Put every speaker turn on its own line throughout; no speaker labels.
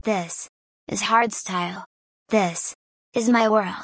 This is hardstyle. This is my world.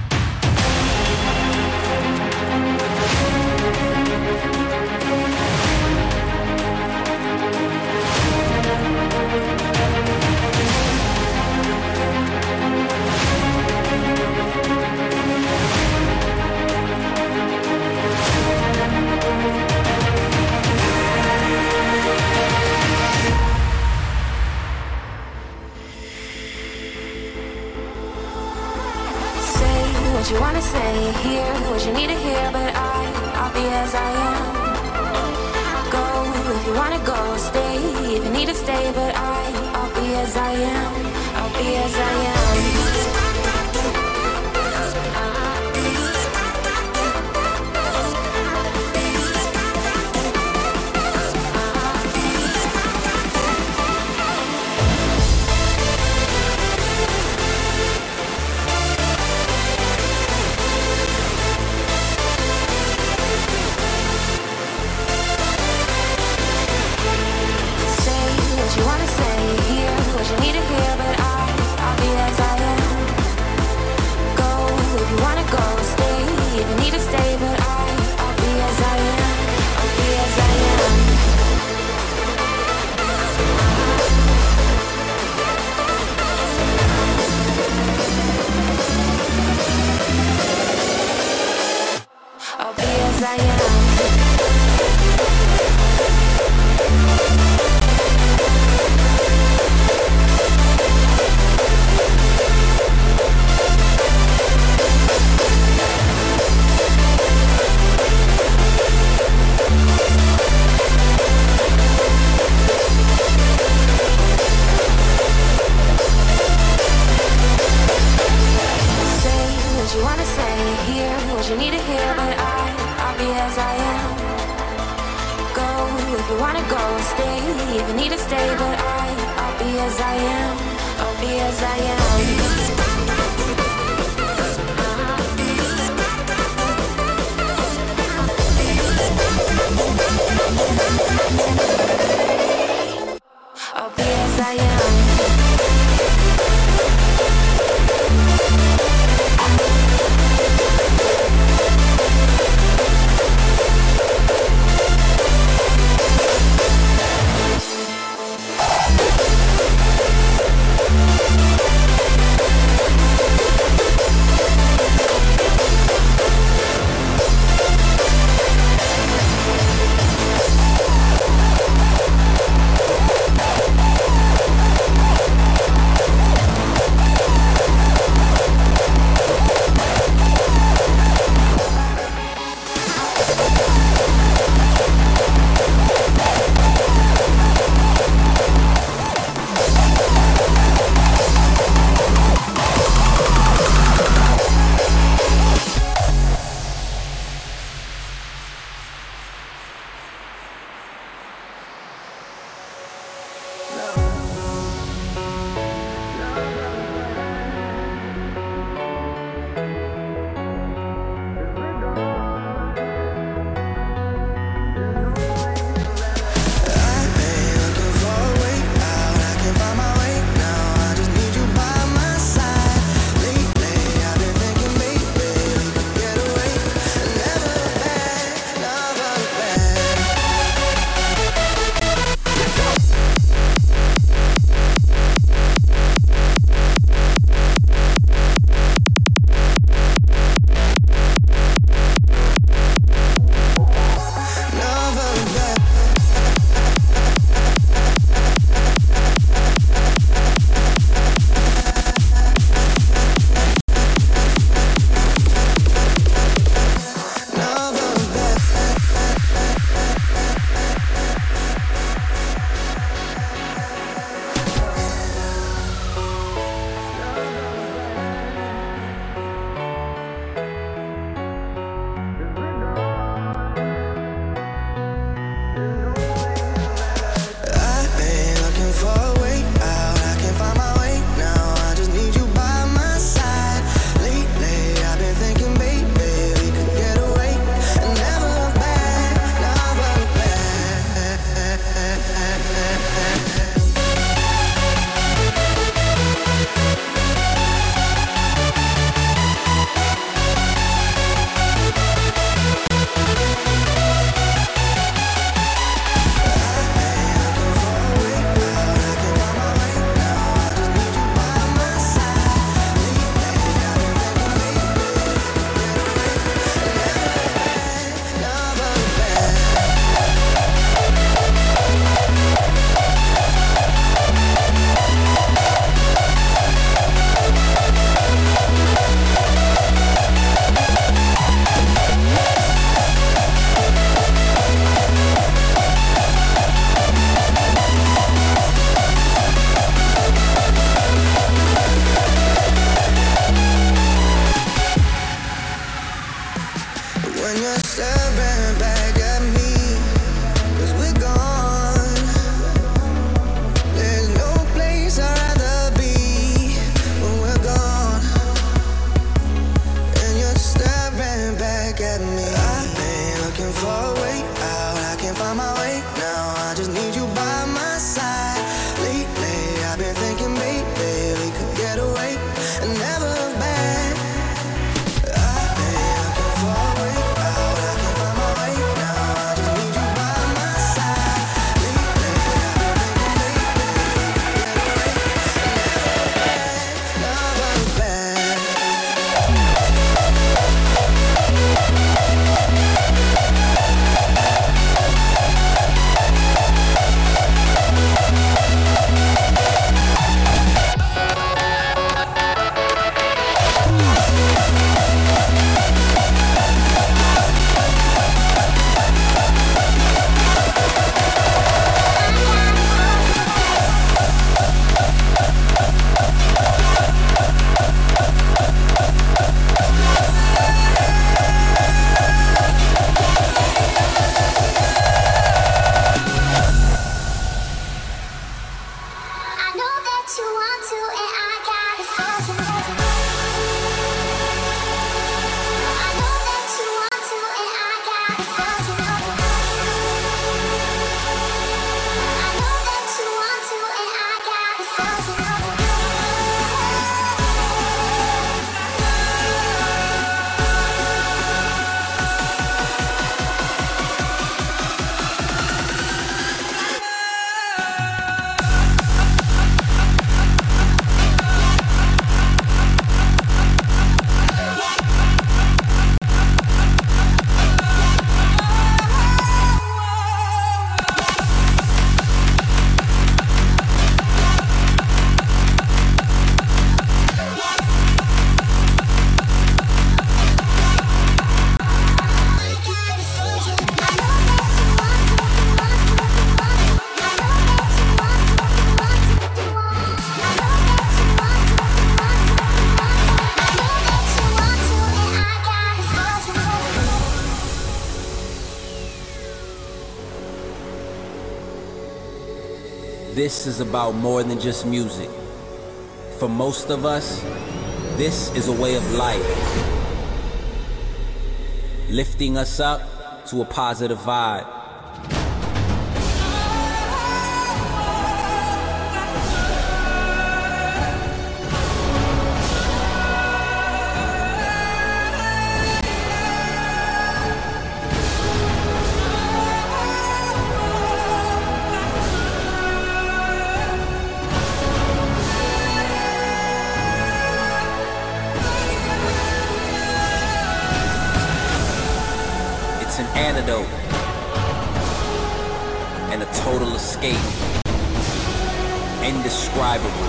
What you wanna say, hear what you need to hear, but I'll be as I am. Go if you wanna go, stay if you need to stay, but I'll be as I am. I'll be as I am.
This is about more than just music. For most of us, this is a way of life, lifting us up to a positive vibe. It's an antidote and a total escape, indescribable,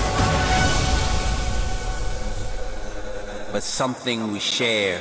but something we share.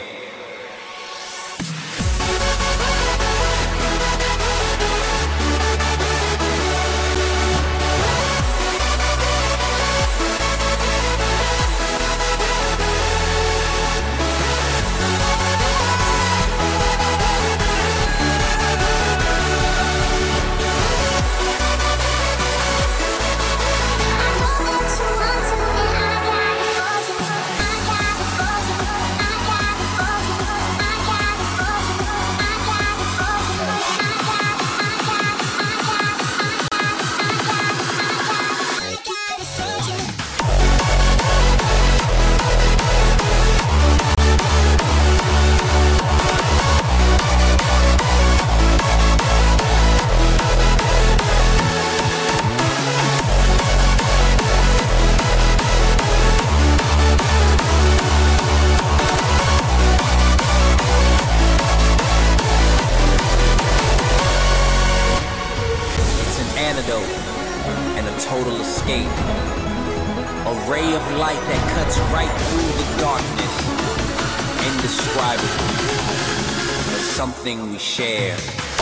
And a total escape, a ray of light that cuts right through the darkness, indescribable, but something we share.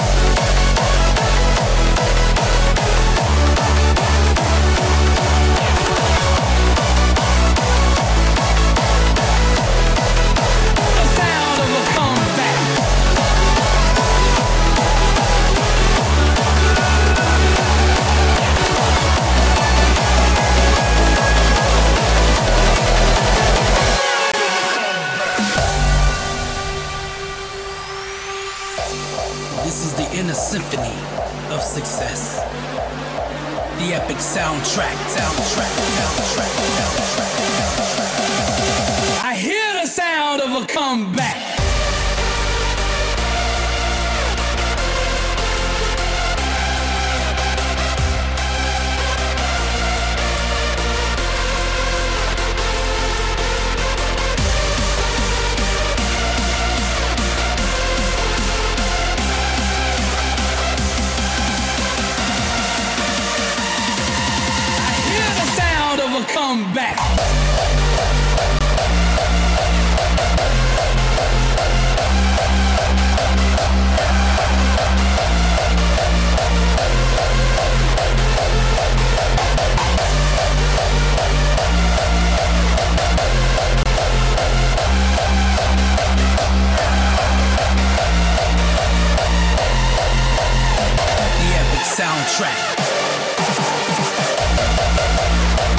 Inner symphony of success. The epic soundtrack. I hear the sound of a comeback. Come back. The epic soundtrack.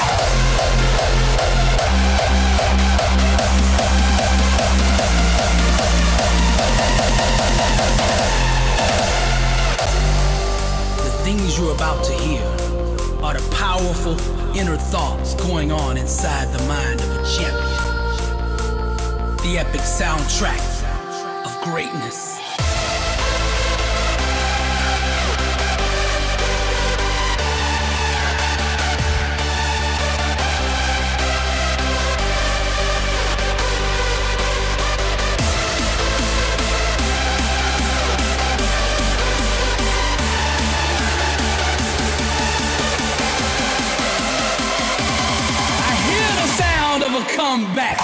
thoughts going on inside the mind of a champion. The epic soundtrack of greatness. Come back.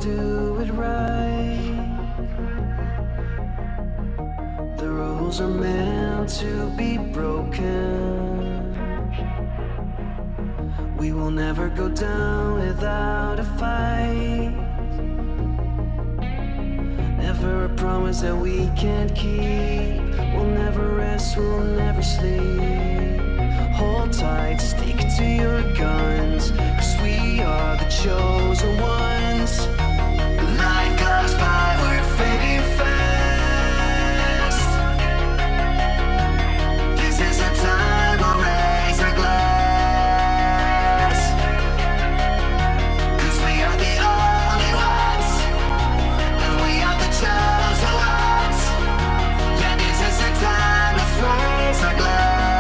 do it right. The rules are meant to be broken. We will never go down without a fight. Never a promise that we can't keep. We'll never rest, we'll never sleep. Hold tight, stick to your guns, 'cause we are the chosen ones. Life goes by, we're fading fast. This is a time we'll raise our glass, 'cause we are the only ones, and we are the chosen ones. Yeah, this is a time, let's raise our glass.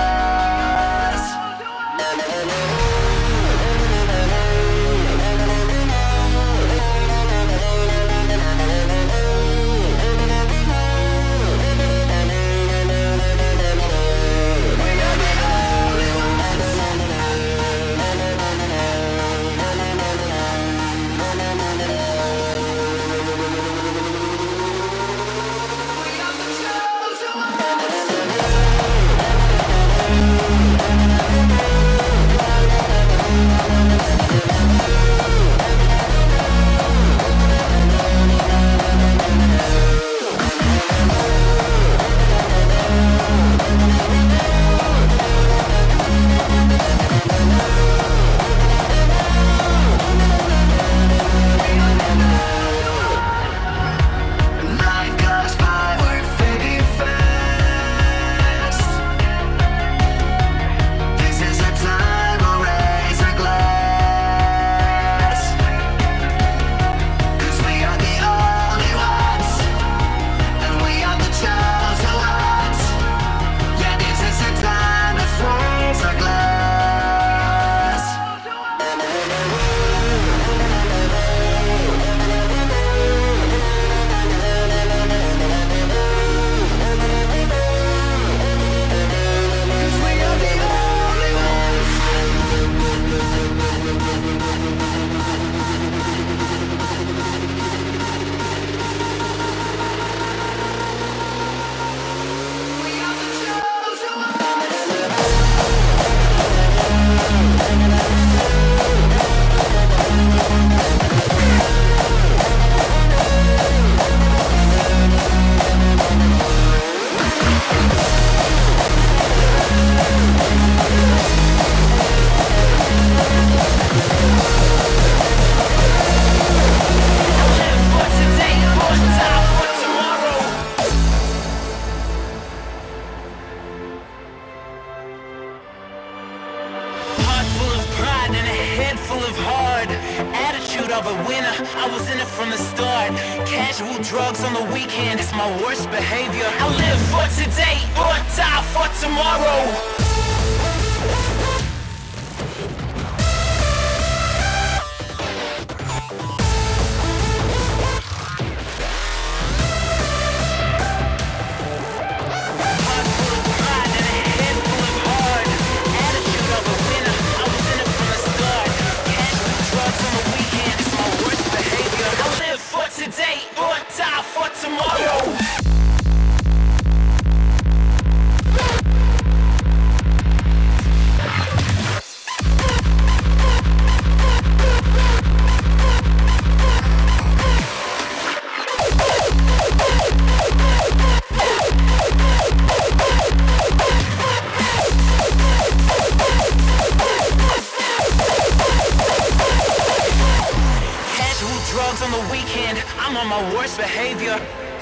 Drugs on the weekend, it's my worst behavior. I live for today, or die for tomorrow. Today, or die for tomorrow. Drugs on the weekend, I'm on my worst behavior.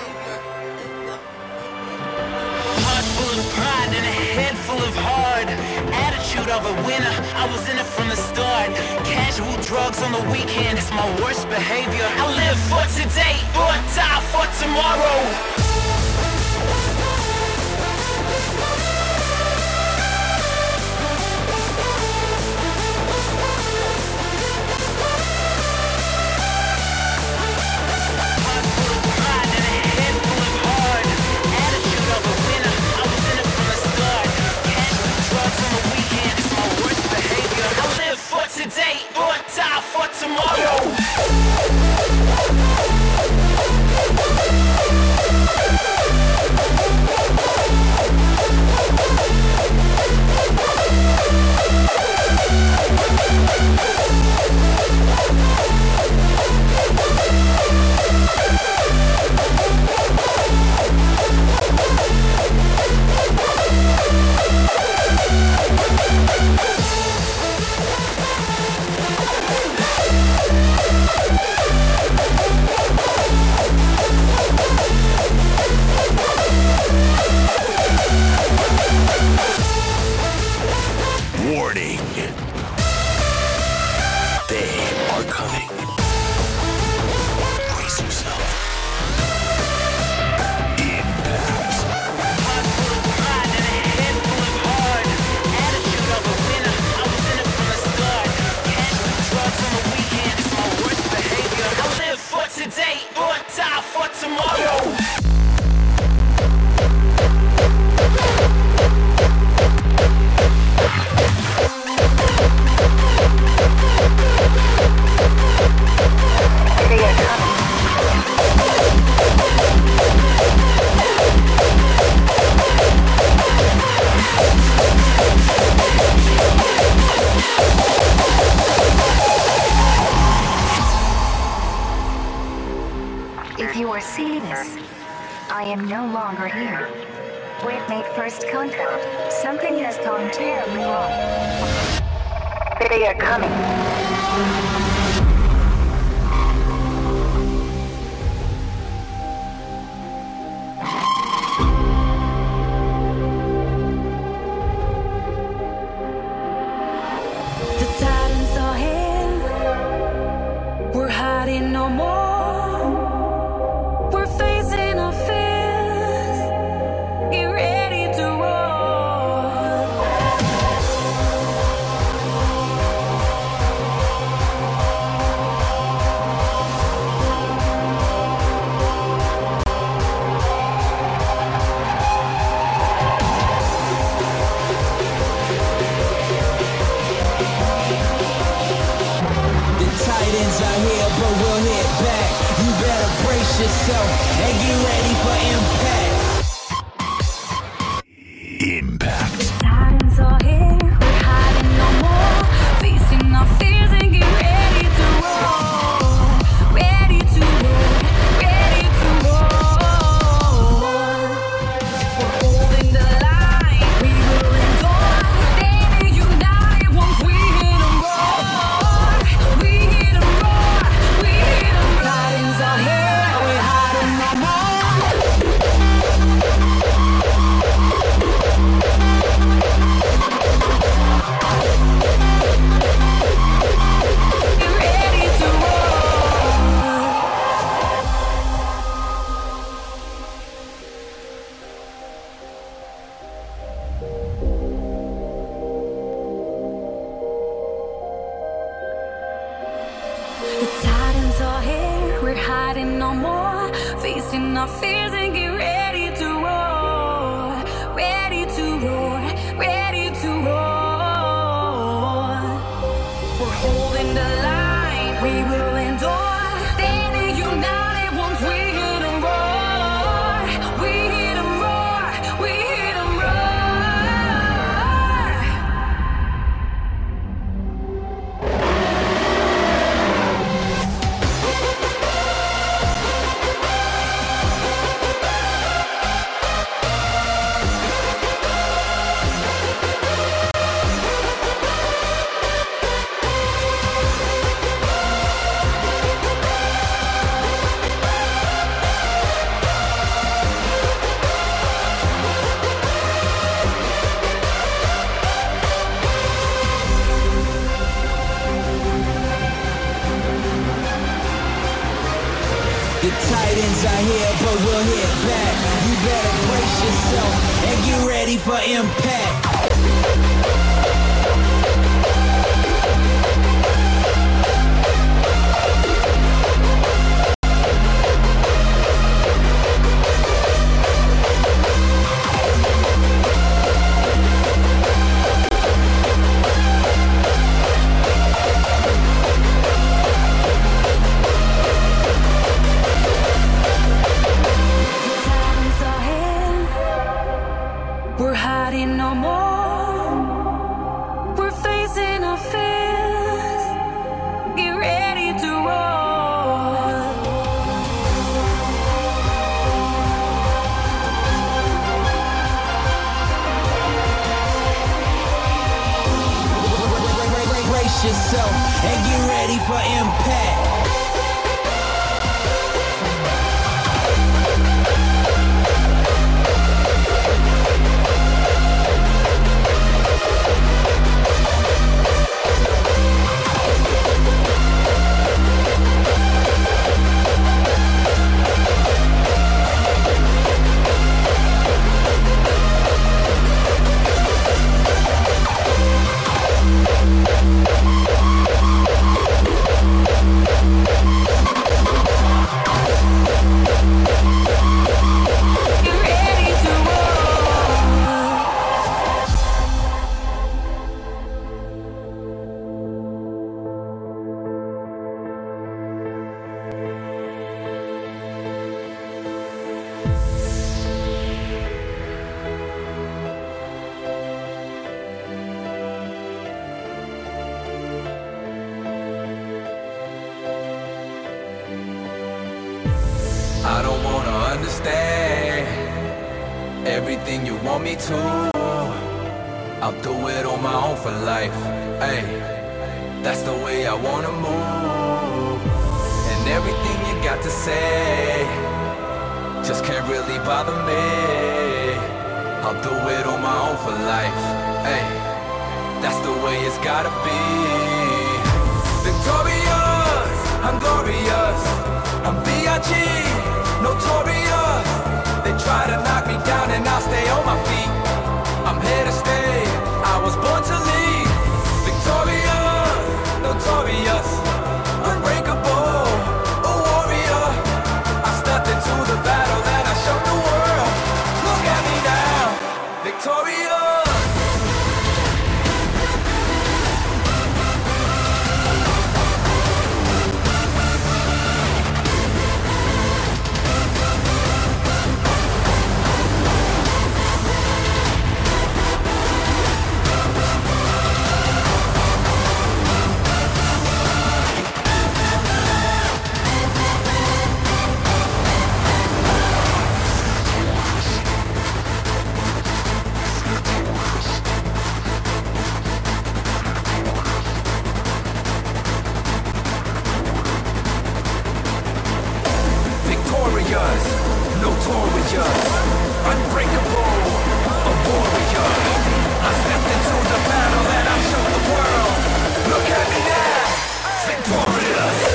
Heart full of pride and a head full of hard. Attitude of a winner, I was in it from the start. Casual drugs on the weekend, it's my worst behavior. I live for today, or die for tomorrow. Today, or die for tomorrow. tomorrow.
They are coming.
If you are seeing this, I am no longer here. We've made first contact. Something has gone terribly wrong. They are coming.
The Titans are here. We're hiding no more. We're facing our fears. Get ready to roar.
The Titans are here, but we'll hit back. You better brace yourself and get ready for impact.
Impact.
Titans are here. We're hiding no more. Facing our fears and get ready to roar. Ready to roar. Ready to roar. We're holding the line. We will endure. Standing united once we hit 'em roar. We hit 'em roar. We hit 'em roar. Titans are here. We're hiding no more. Get ready to roar. The Titans are here, we're hiding no more. Facing our fears and get ready to roar. Ready to roar, ready to roar. We're holding the line, we will endure. Standing united once we hit 'em roar. We hit 'em roar, we hit 'em roar.
The Titans are here, but we'll hit back. You better brace yourself and get ready for impact.
Titans are here. We're hiding no more.
stay. Everything you want me to, I'll do it on my own for life. Ay, that's the way I wanna move. And everything you got to say just can't really bother me. I'll do it on my own for life. Ay, that's the way it's gotta be. Victorious, I'm glorious, I'm B.I.G., notorious. They try to knock me down and I'll stay on my feet. I'm here to stay, I was born to lead. Victorious, notorious, unbreakable, a warrior. I stepped into the battle and I showed the world. Look at me now, victorious. Notorious, unbreakable, a warrior. I stepped into the battle and I showed the world. Look at me now, victorious.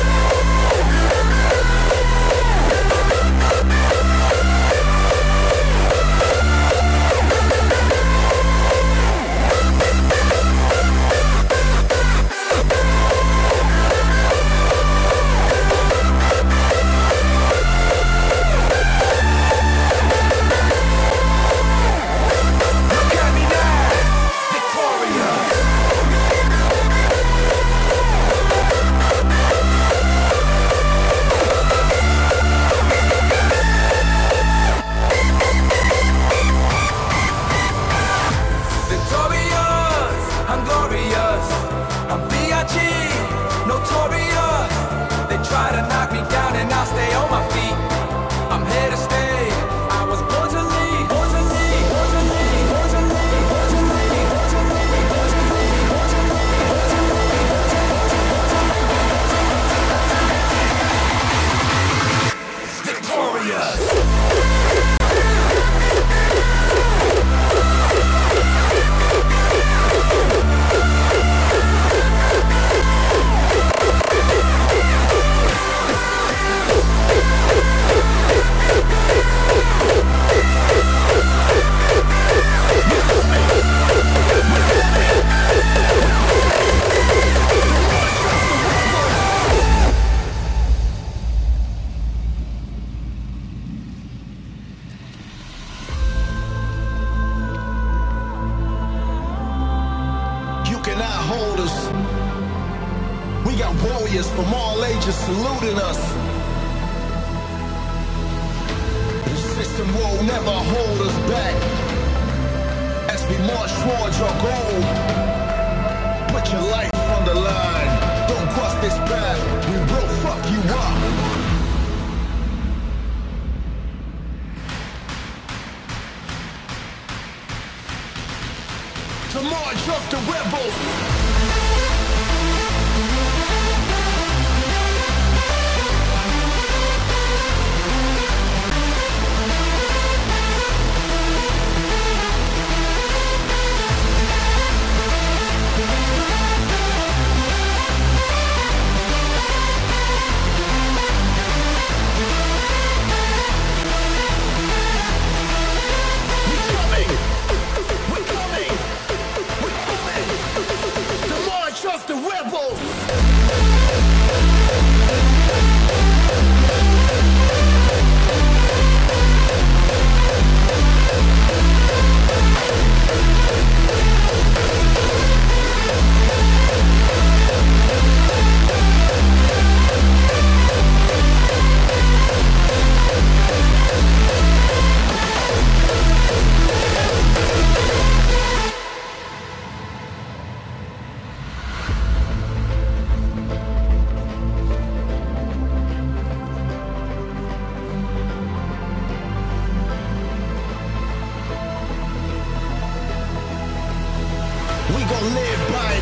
From all ages saluting us. The system will never hold us back as we march towards your goal. Put your life on the line. Don't cross this path. We will fuck you up. To march off the rebels. We're coming! We're coming!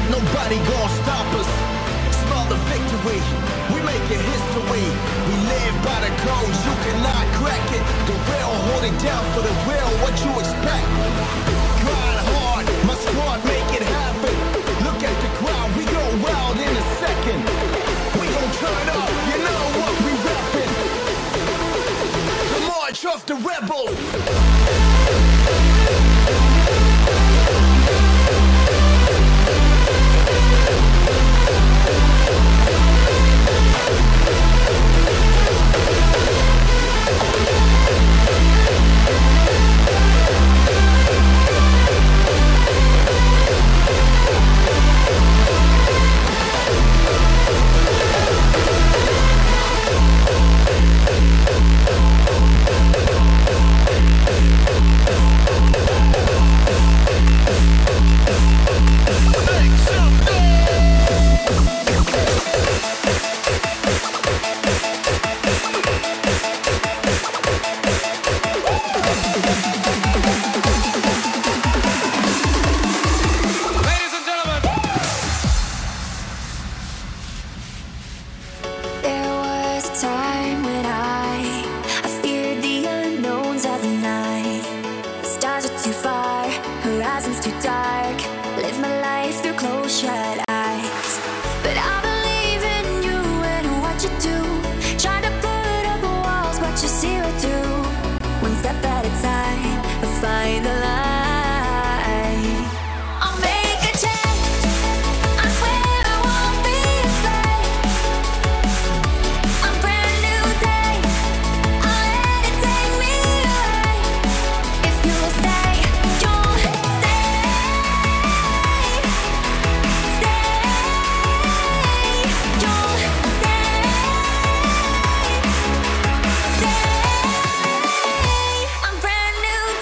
Nobody gon' stop us. Smell the victory. We making history. We live by the codes. You cannot crack it. The real hold it down for the real. What you expect? Grind hard. My squad make it happen. Look at the crowd. We go wild in a second. We gon' turn up. You know what we rapping. The march of the rebels.
I'm brand new.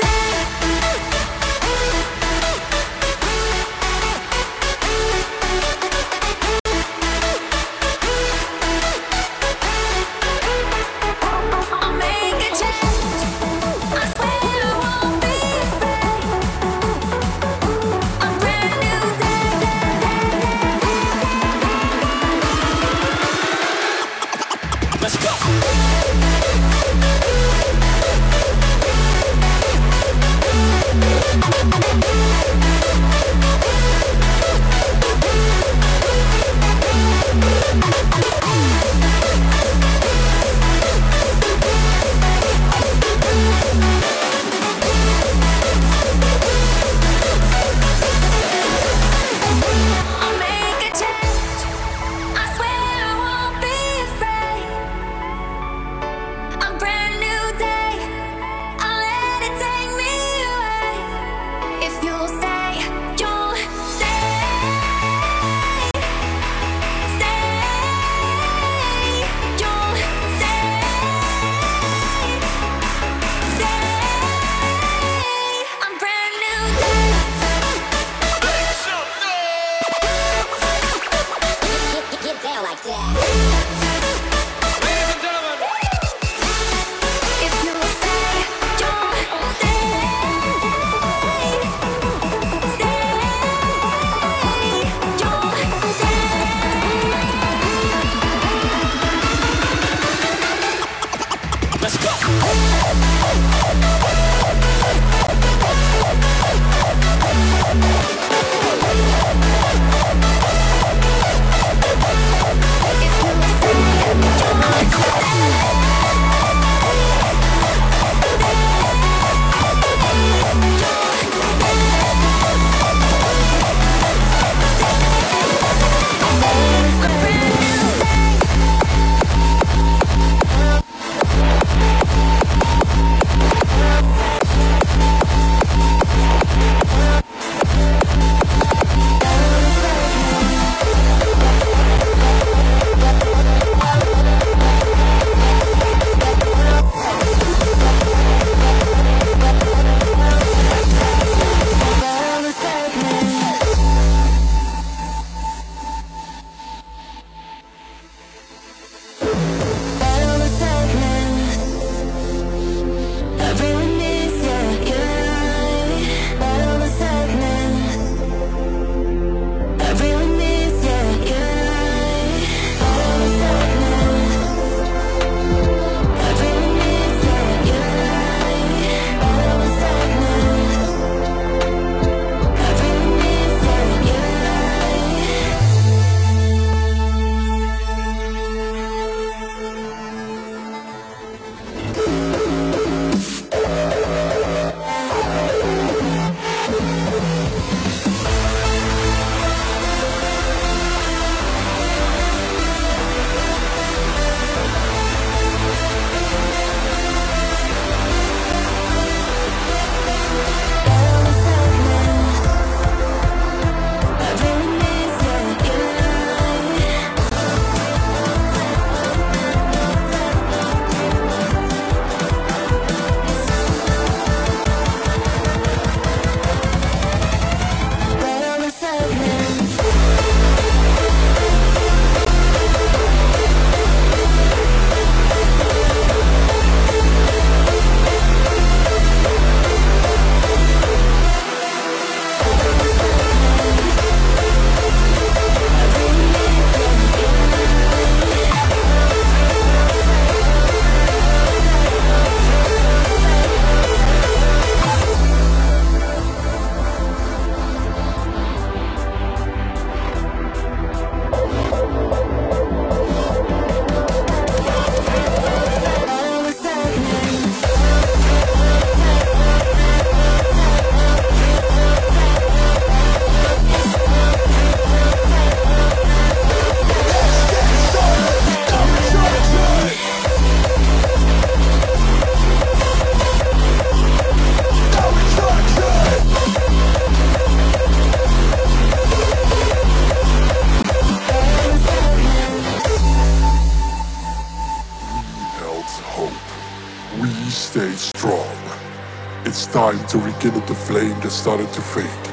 stayed strong. It's time to rekindle the flame that started to fade.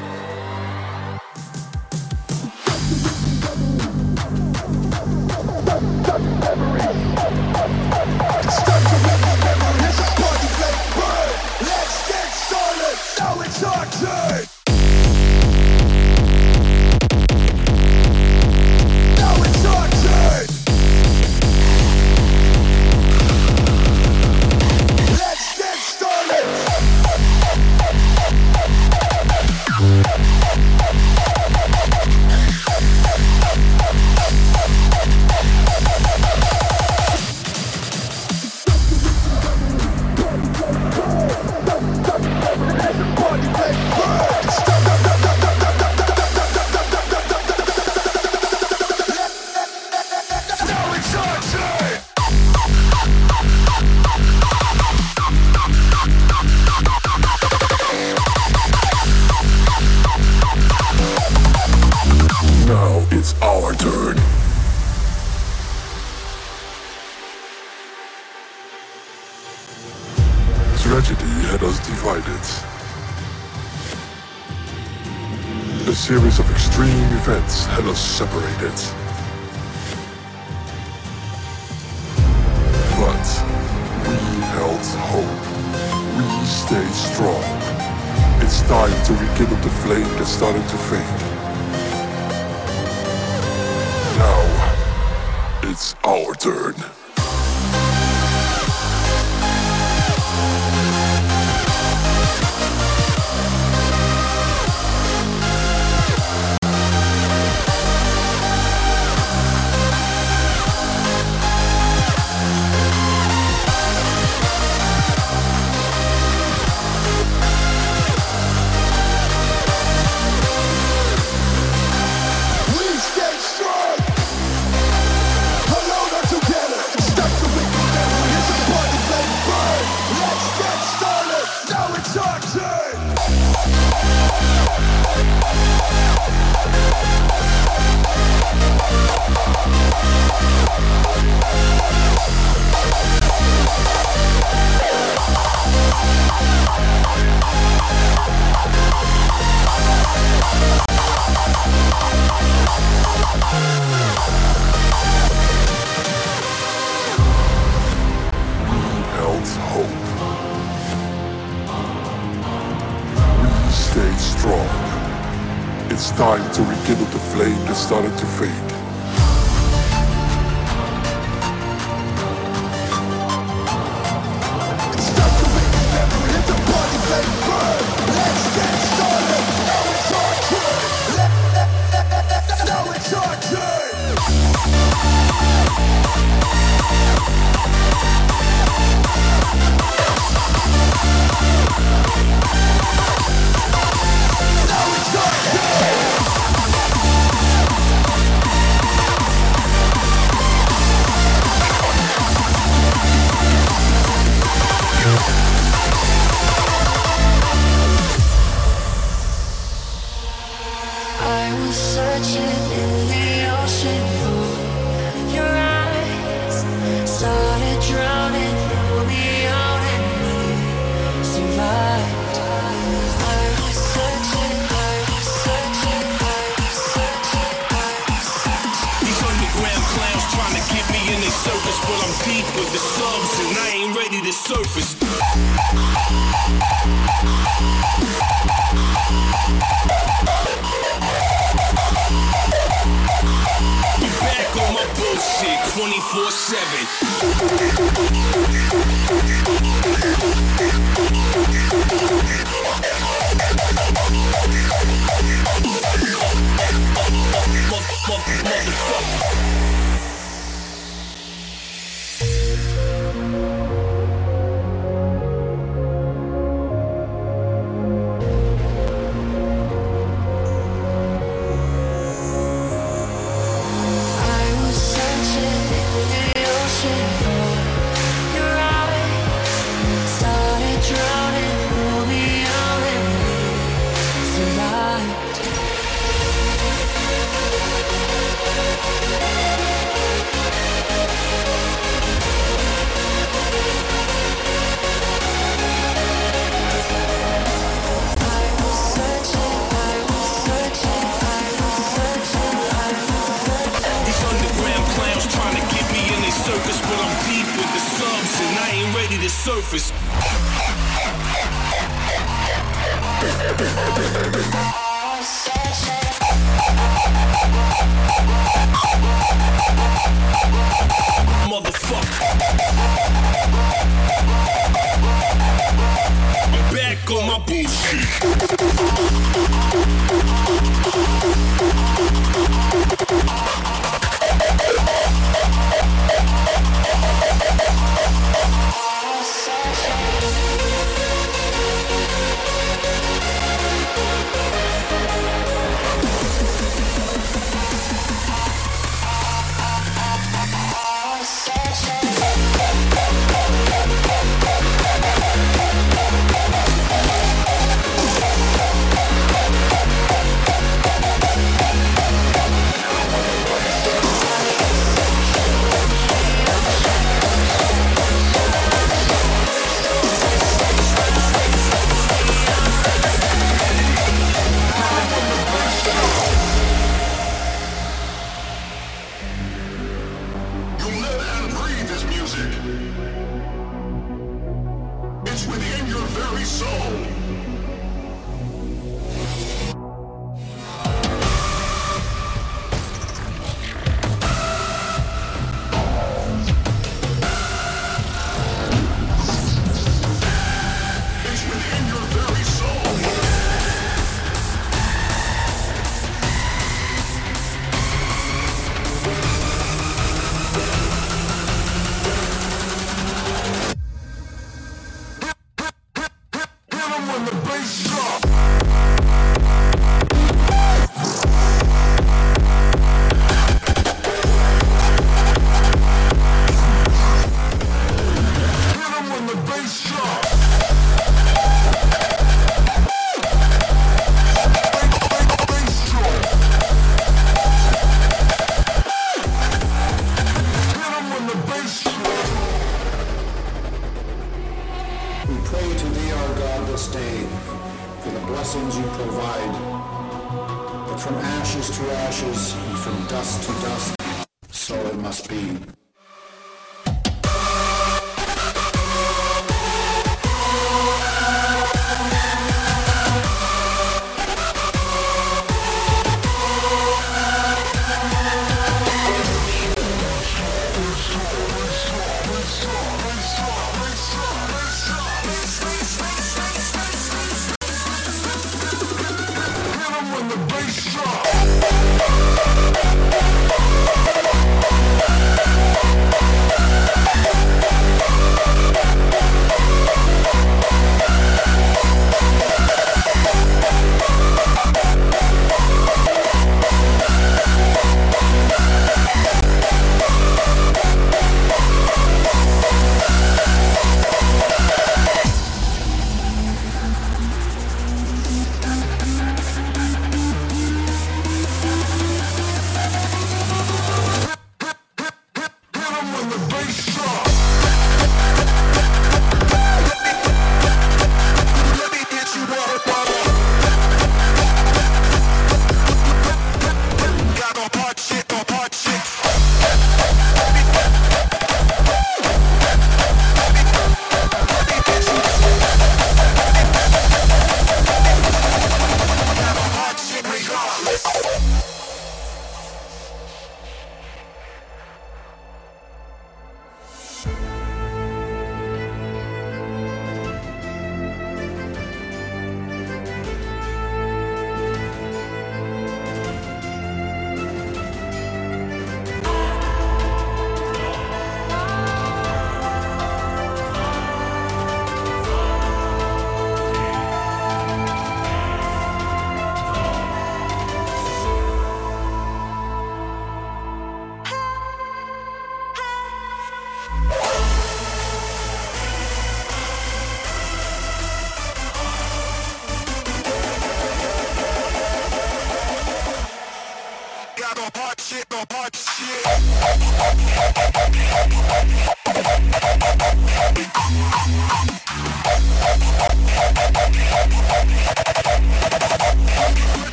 Tragedy had us divided. A series of extreme events had us separated. But we held hope. We stayed strong. It's time to rekindle the flame that started to fade. Now, it's our turn. It's time to rekindle the flame that started to fade. It's time to make a memory, hit the party, let it burn. Let's get started, now it's our turn. Now it's our turn.
With the subs and I ain't ready to surface. We back on my bullshit 24/7. Motherfucker.
Start
surface. Motherfucker. I'm back on my bullshit.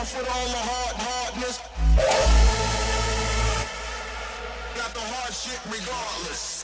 off with all the hardness. Got the hard shit regardless.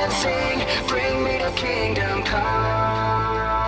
and sing, bring me to kingdom come.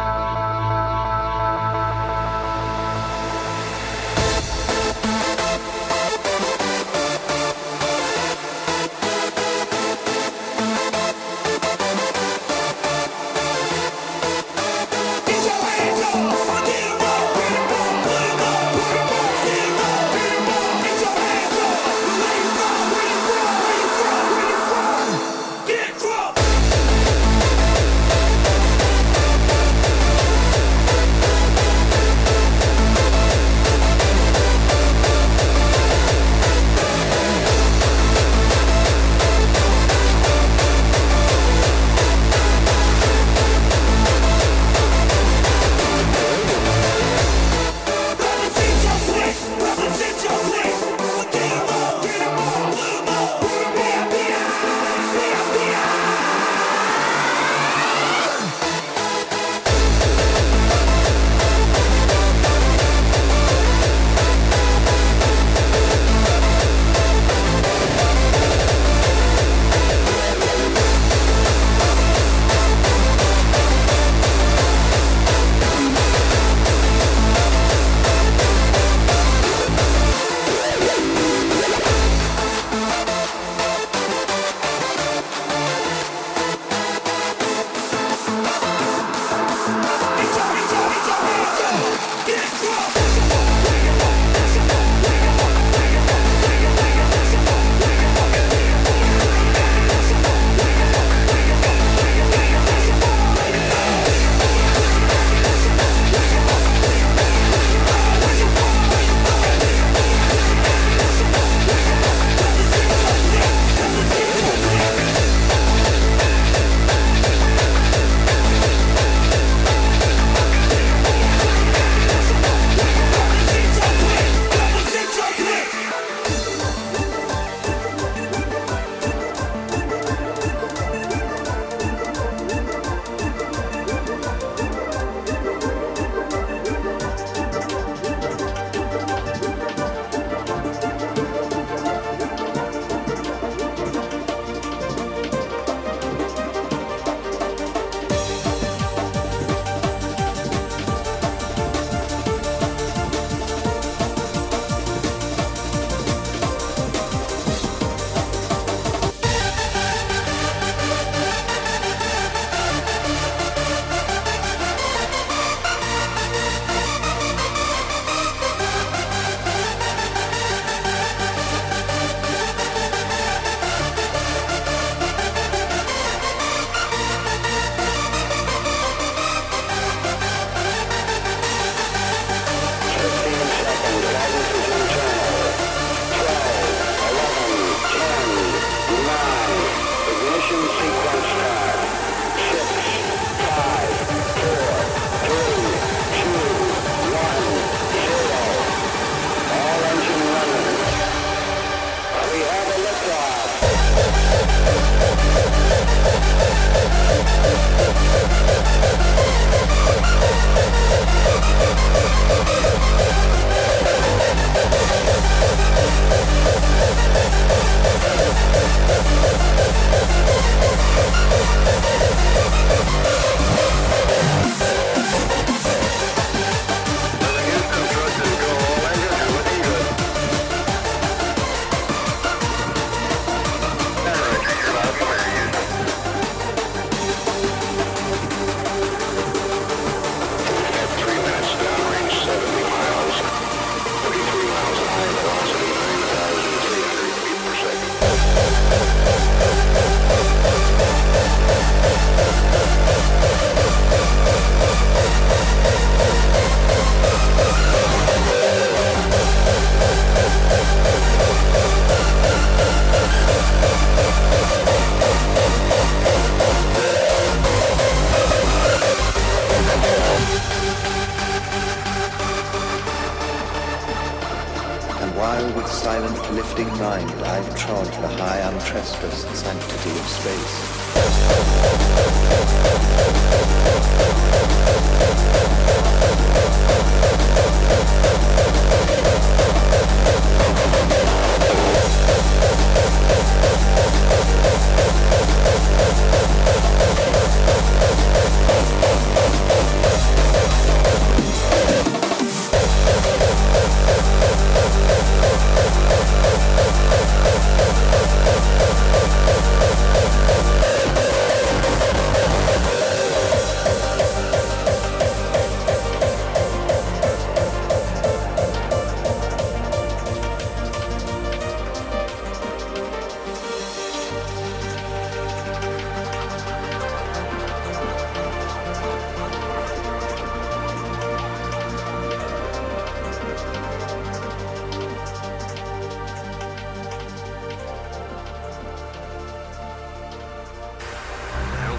lifting mind, I've trod the high untrespassed sanctity of space.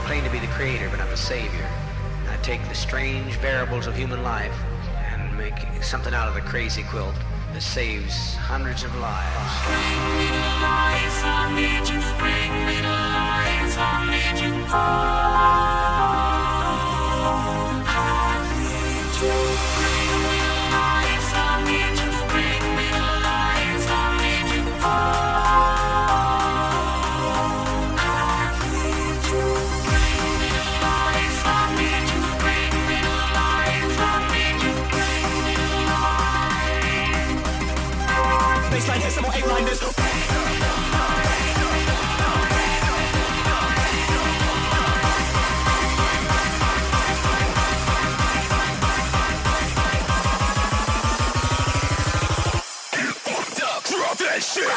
claim to be the creator, but I'm the savior. I take the strange variables of human life and make something out of the crazy quilt that saves hundreds of lives. Bring me to life, I need you. Bring me to life, I need you. Oh, I need you. Bring me to life, I need you. Bring me to life, I need you. Oh, I need you. Bring me to life, I need you. Bring me to life, I need you. Bring me to life. Baseline hit, some more 8-line this. Drop that shit!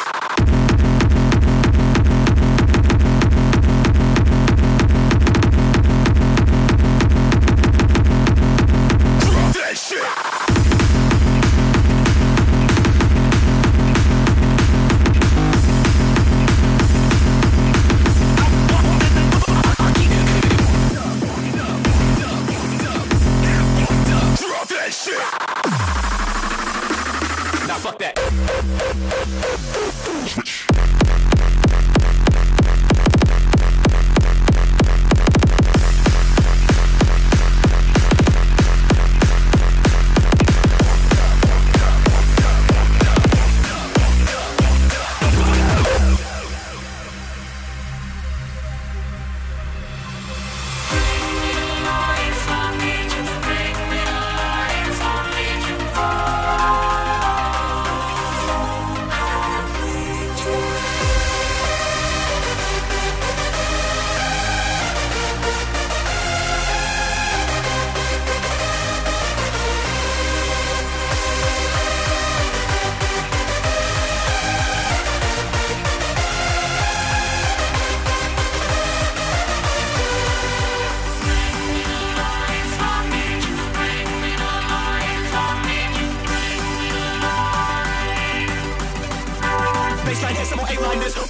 Baseline hit, some more 8-line this.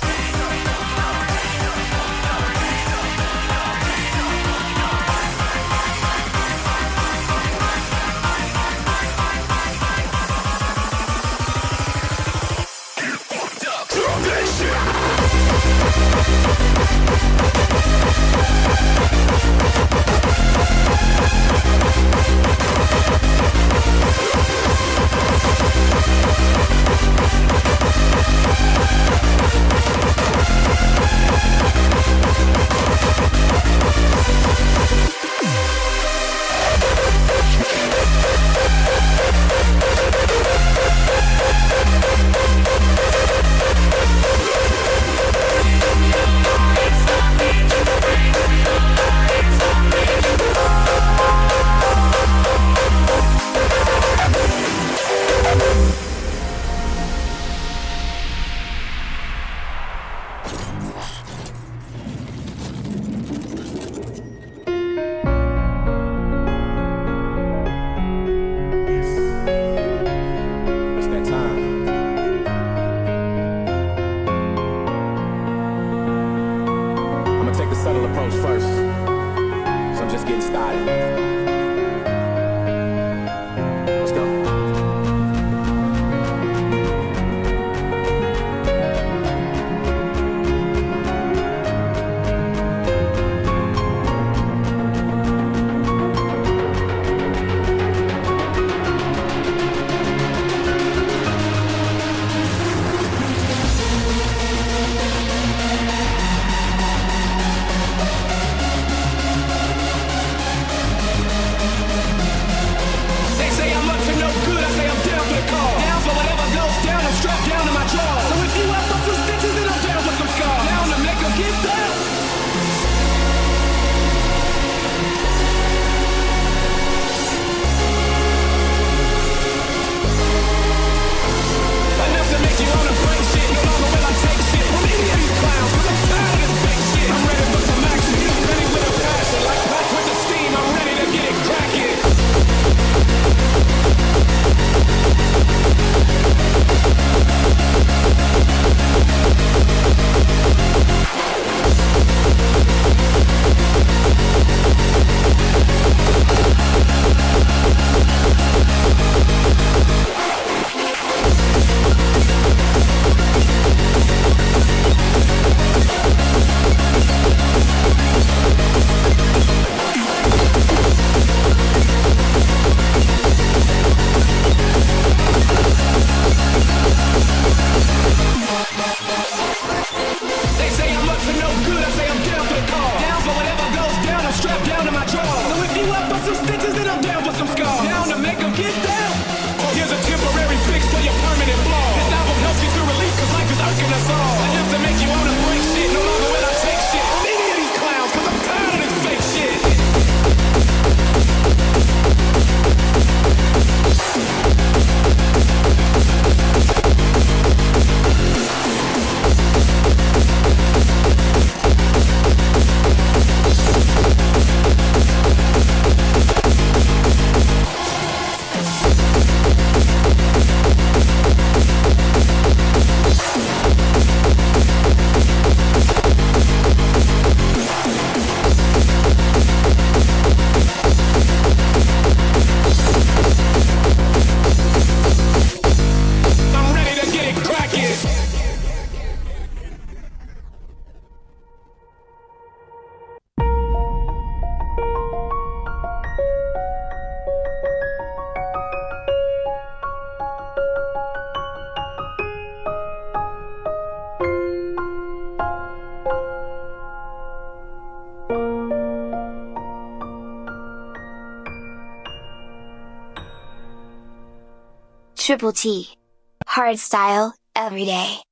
Triple T. Hardstyle, every day.